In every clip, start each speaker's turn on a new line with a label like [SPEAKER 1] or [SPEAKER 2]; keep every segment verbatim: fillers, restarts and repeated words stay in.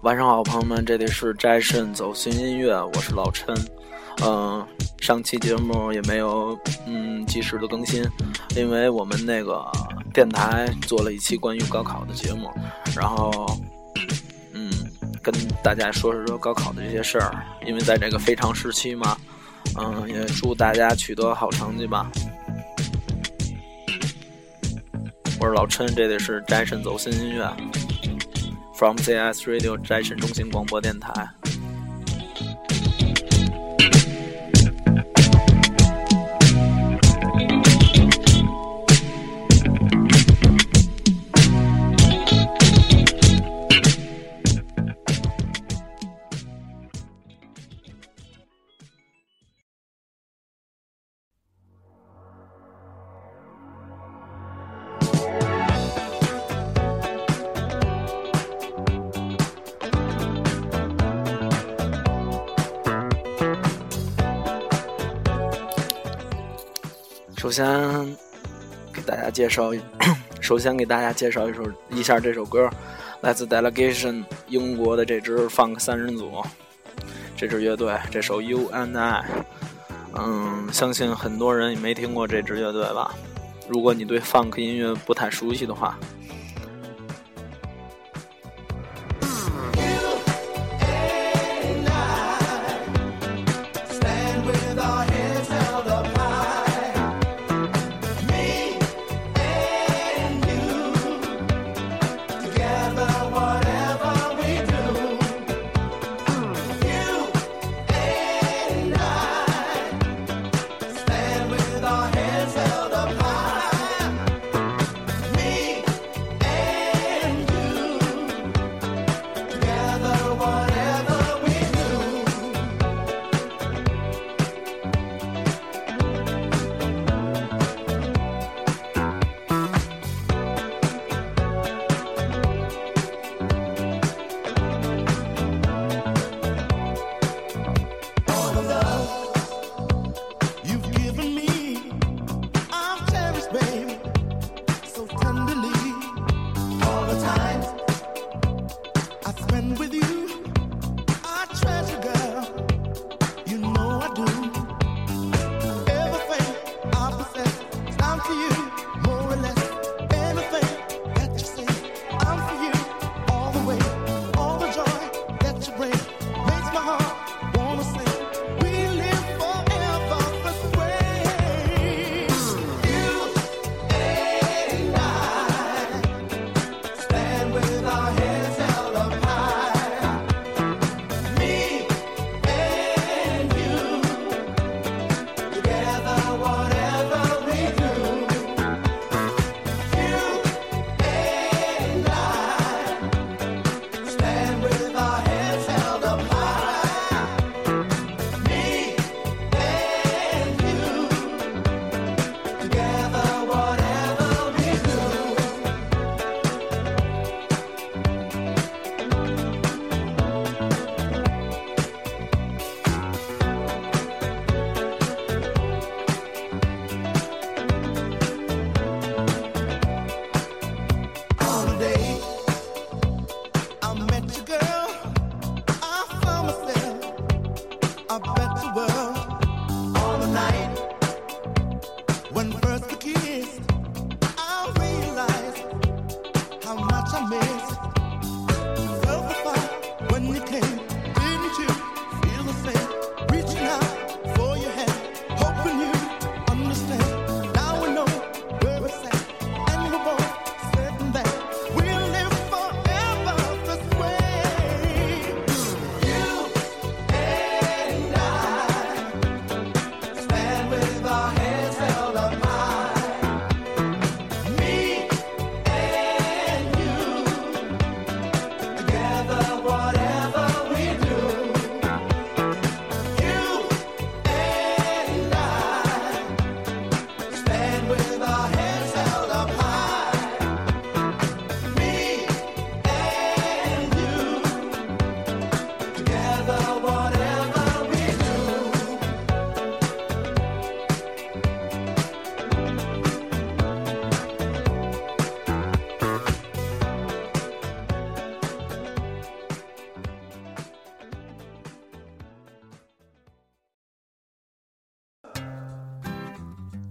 [SPEAKER 1] 晚上好，朋友们，这里是斋肾走心音乐，我是老陈。嗯、呃，上期节目也没有嗯及时的更新，因为我们那个电台做了一期关于高考的节目，然后嗯跟大家说说高考的这些事儿，因为在这个非常时期嘛，嗯，也祝大家取得好成绩吧。我是老陈，这里是斋肾走心音乐 from Z S Radio 斋肾中心广播电台。首先给大家介绍，首先给大家介绍一首一下这首歌，来自 Delegation 英国的这支 Funk 三人组，这支乐队，这首 You and I， 嗯，相信很多人也没听过这支乐队吧？如果你对 Funk 音乐不太熟悉的话。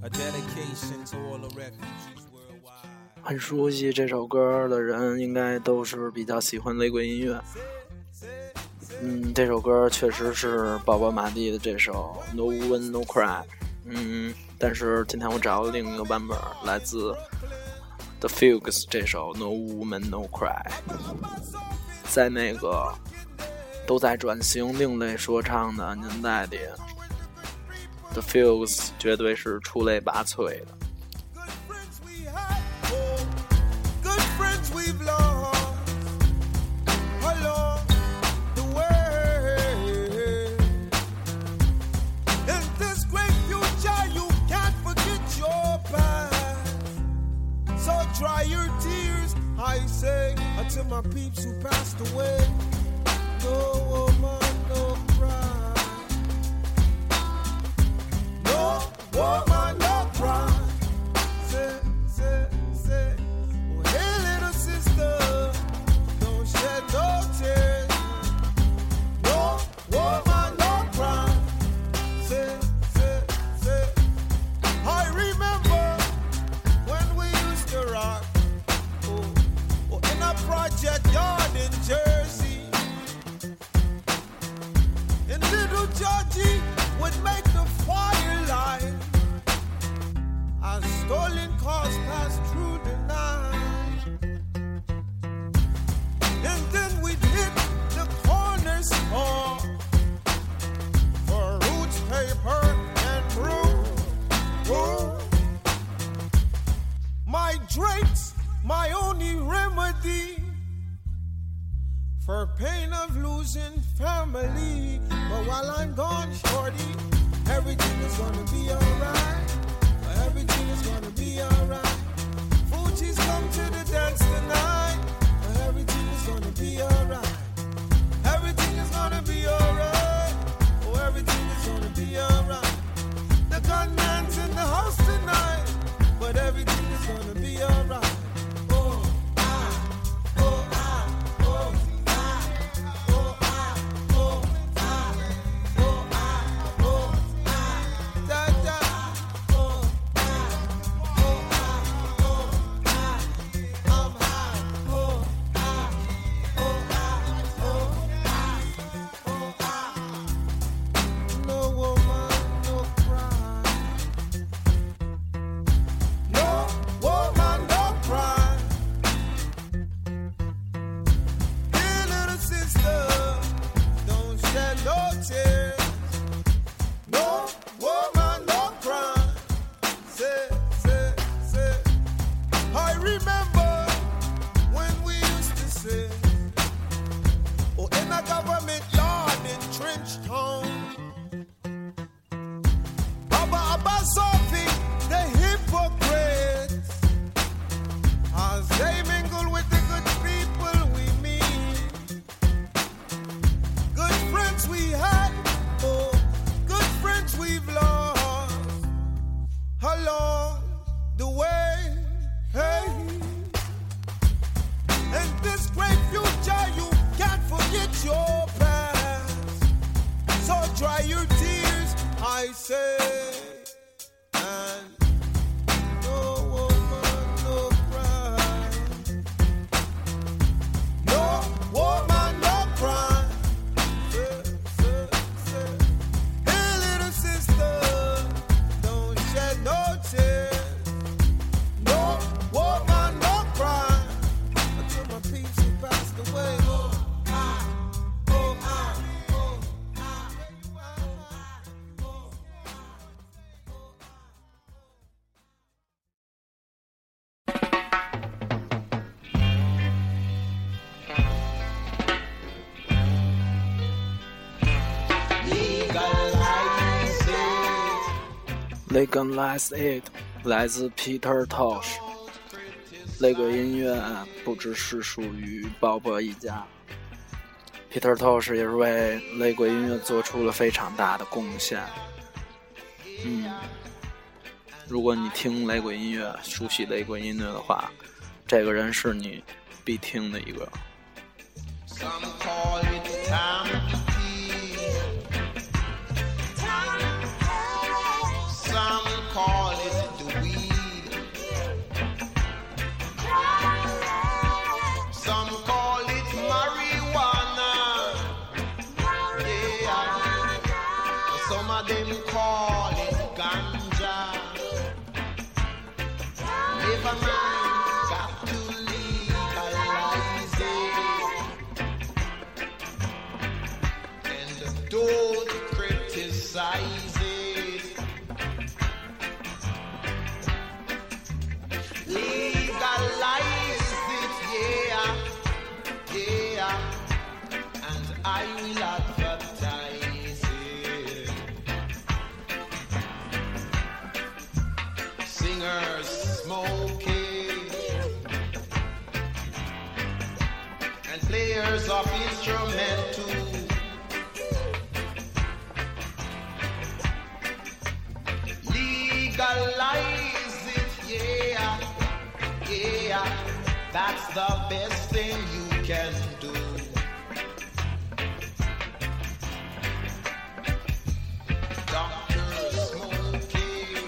[SPEAKER 1] 很熟悉这首歌的人应该都是比较喜欢雷鬼音乐。嗯，这首歌确实是宝宝马蒂的这首 No Woman No Cry。嗯，但是今天我找了另一个版本，来自 The Fugues 这首 No Woman No Cry。在那个都在转型另类说唱的年代里， The Fugues 绝对是出类拔萃的。
[SPEAKER 2] Dry your tears, I say, until my peeps who passed away. No woman, no cry. No woman, no cry. Say, say, say, oh, hey little sister, don't shed no tears. No woman, no cry. Say, say, say, I remember when we used to rock, oh, oh, in a project yard in Jersey. And little Georgie would make the fire light as stolen cars passed through the night. And then we'd hit the corner store for roots, paper, and brew. Oh, my drinks, my only remedy for pain of losing family. But while I'm gone, shorty, everything is gonna be alright. Everything is gonna be alright. Fuji's come to the dance tonight. Everything is gonna be alright. Everything is gonna be alright. Oh, everything is gonna be alright. The gunman's in the house tonight, but everything is gonna be alright. Oh, I, oh, I, oh, I, oh, I, oh, I, oh, I, oh, I, da, da, oh, I, oh, I, oh, I, I'm high, oh, I, oh, I, oh, I, oh, I. No woman, no cry. No woman, don't cry. Hey, little sister, don't shed no tears. No woman, don't cry. Say, say, say. I remember when we used to say, oh, in a government yard in Trenchtown, Baba Abasofi, the hypocrites, as they mingle with the good people we meet. Good friends we had, oh, good friends we've lost along the way. Hey, and this great future, you can't forget your past. So dry your tears, I say. And no woman, no cry. No woman, no cry. Say, say, say. Hey, little sister, don't shed no tears. No woman, no cry. Until my peeps who passed away. Oh, I, oh, I, oh, I, oh, I, oh,
[SPEAKER 1] Legalize It 来自 Peter Tosh。雷鬼音乐不只是属于鲍勃一家， Peter Tosh 也是为雷鬼音乐做出了非常大的贡献。嗯，如果你听雷鬼音乐，熟悉雷鬼音乐的话，这个人是你必听的一个。
[SPEAKER 2] Some call it time to kill. Some call it government got to legalize it, and don't criticize it. Legalize it, yeah, yeah, and I will advertise it. Singers smoking and players of instrumental. Legalize it, yeah, yeah, that's the best thing you can do. Doctors smoking,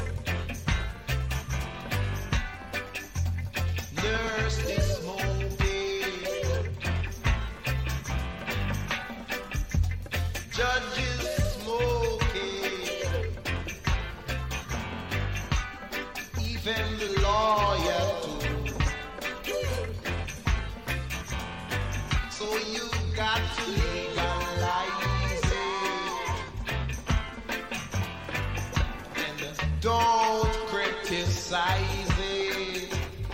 [SPEAKER 2] nurses smoking, judges smoking, even the lawyer too. So you got to legalize it, and don't criticize it.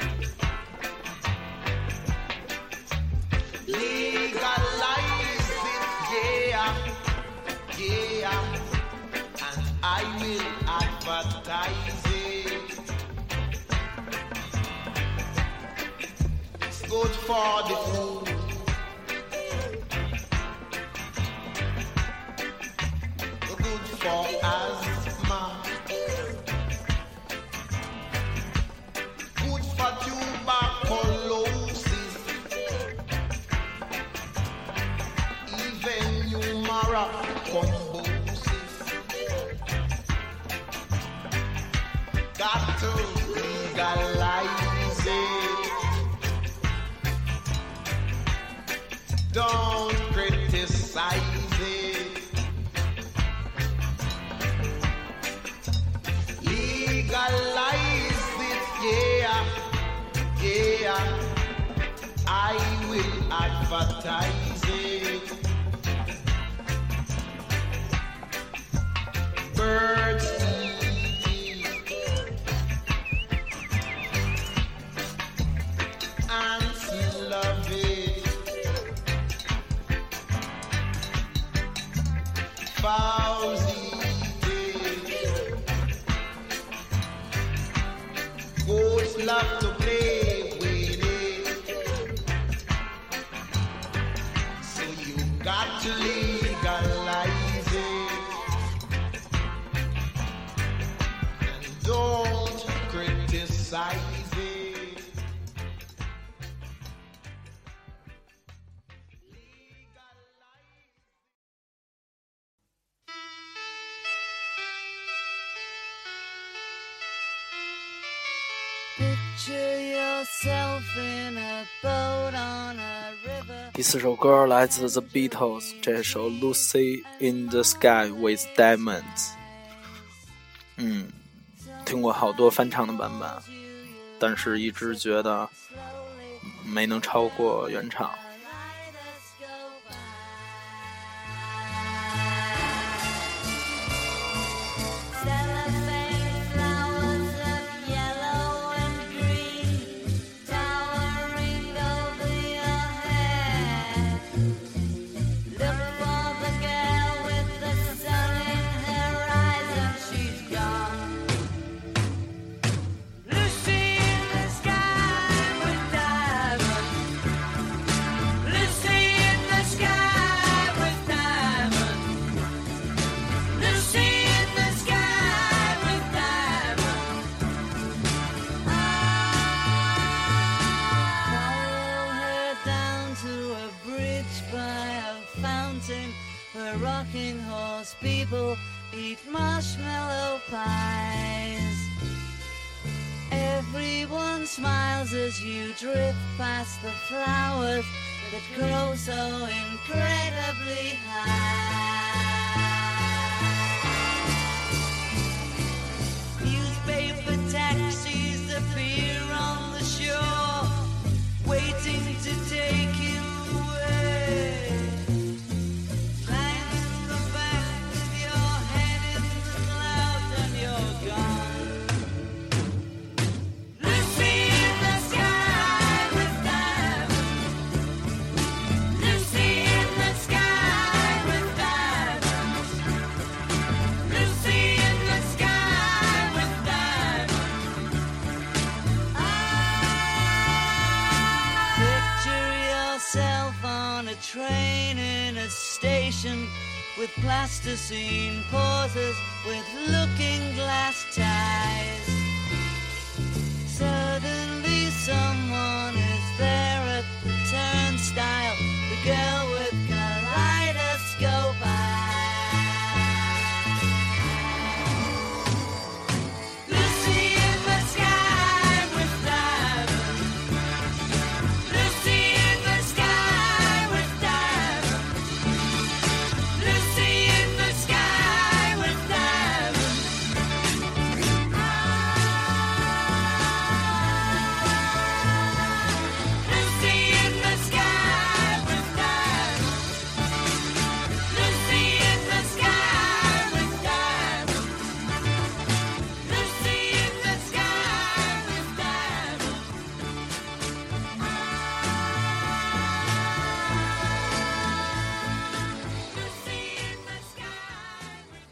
[SPEAKER 2] Legalize it, yeah, yeah, and I will advertise it. It's good for the food, good for asthma, good for tuberculosis, even humoral thrombosis. Got to legalize it. Don't criticize it. Legalize it, yeah, yeah, I will advertise it. Birds eat it, ants love it, fowls eat it, goats love to play with it. So you got to legalize it, and don't criticize it.
[SPEAKER 3] Picture yourself in a boat on a river.
[SPEAKER 1] 第四首歌来自 The Beatles， 这首 Lucy in the Sky with Diamonds。 嗯，听过好多翻唱的版本，但是一直觉得没能超过原唱。
[SPEAKER 3] Where rocking horse people eat marshmallow pies. Everyone smiles as you drift past the flowers that grow so incredibly high. Newspaper taxis appear plasticine pauses with looking glass ties. Suddenly someone is there at the turnstile, the girl with kaleidoscope eyes. Lucy in the sky with diamonds. Lucy in the sky with diamonds. Lucy in the sky with diamonds. Lucy in the sky with diamonds. Lucy in the sky with diamonds. Lucy in the sky with diamonds. Lucy in the sky with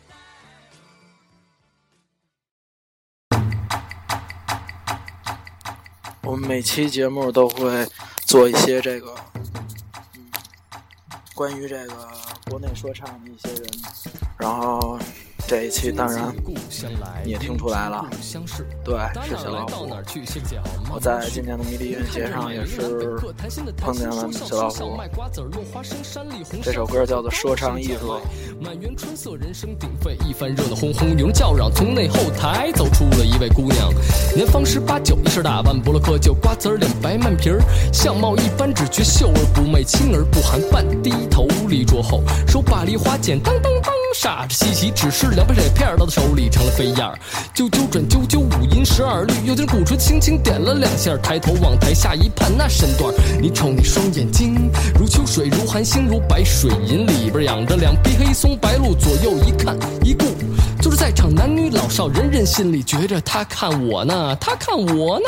[SPEAKER 3] diamonds.
[SPEAKER 1] 我们每期节目都会做一些这个，嗯，关于这个国内说唱的一些人，然后这一期当然你也听出来了，对，是小老虎。我在今年的迷笛音乐节上也是碰见了小老虎。这首歌叫做《说唱艺术》。
[SPEAKER 4] 满园春色，人声鼎沸，一番热闹哄哄，有人叫嚷，从内后台走出了一位姑娘，年方十八九，一身打扮，不落窠臼，瓜子儿脸，白曼皮儿，相貌一般，只觉秀而不媚，轻而不含，半低头立桌后，手把梨花剪，当当当，傻着稀奇，只是两把水片到他手里成了飞燕儿，啾啾转啾啾，五音十二律，有点鼓槌轻轻点了两下，抬头往台下一盼，那身段，你瞅你双眼睛，如秋水，如寒星，如白水银，里边养着两匹黑松白鹿，左右一看一顾，就是在场男女老少，人人心里觉着他看我呢，他看我呢。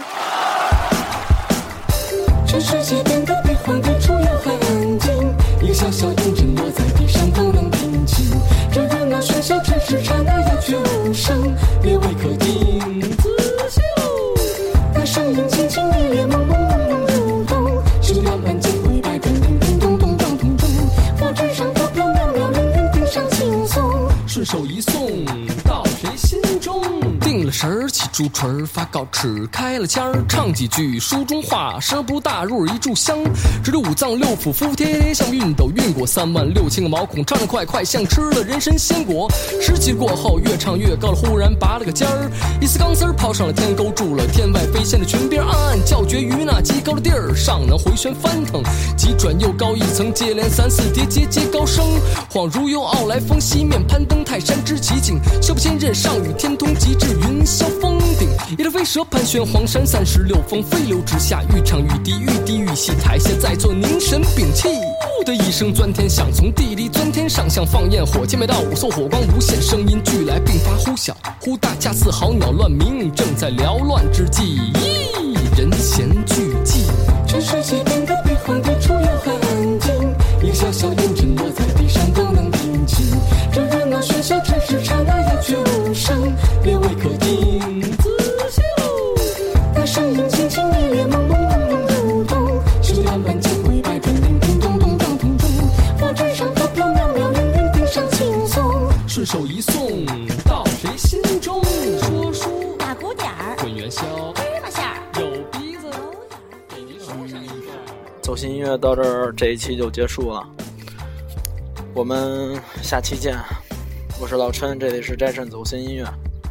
[SPEAKER 4] 这世界变得比荒地处要还安静，一个小小影枕落在地上都能平静，这热闹喧嚣只是刹那鸦雀无声，列位可听仔细喽，那声音轻轻烈烈朦朦胧胧流动，修掉满肩灰白叮叮叮咚咚当咚咚，佛纸上飘飘渺渺人人顶上轻松，顺手一送到谁心中，定了神儿起朱唇发告齿开了腔儿，唱几句书中话，声不大入耳一炷香，直着五脏六腑服服帖帖像熨斗，熨过三万六千个毛孔，唱得快快像吃了人参鲜果，十级过后越唱越高了，忽然拔了个尖儿，一丝钢丝儿抛上了天，勾住了天外飞仙的裙边，暗暗叫绝于那极高的地儿，上能回旋翻腾，急转又高一层，接连三四叠节节高升，恍如由傲来峰西面攀登泰山之奇景，修不千仞上与天通，极至云霄峰顶，一条飞蛇盘旋黄山三十六峰，飞流直下，愈唱愈低，愈低愈细，台下在座凝神屏气，呼的一声钻天响，从地里钻天上，像放焰火箭，每道五色火光无限，声音俱来，并发忽小忽大，恰似好鸟乱鸣，正在缭乱之际，咦，人闲俱寂，这世界变得比荒地处要还安静，一个小小影枕落在地上都能平静，这热闹喧嚣只是刹那鸦雀无声，列位可听仔细喽，那声音轻轻烈烈朦朦胧胧流动，修掉满肩灰白叮叮叮咚咚当咚咚，佛纸上飘飘渺渺人人顶上轻松，顺手一送到谁心中，说书
[SPEAKER 5] 打鼓点儿，
[SPEAKER 4] 滚元宵，
[SPEAKER 5] 芝麻馅儿，
[SPEAKER 4] 有鼻子，
[SPEAKER 5] 给你说上一个。
[SPEAKER 1] 走心音乐到这儿，这一期就结束了，我们下期见。我是老陈，这里是斋肾走心音乐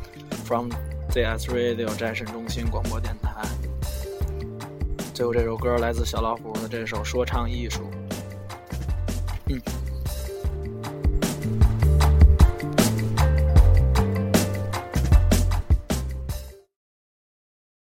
[SPEAKER 1] from Z S Radio 斋肾中心广播电台。最后这首歌来自小老虎的这首说唱艺术。嗯。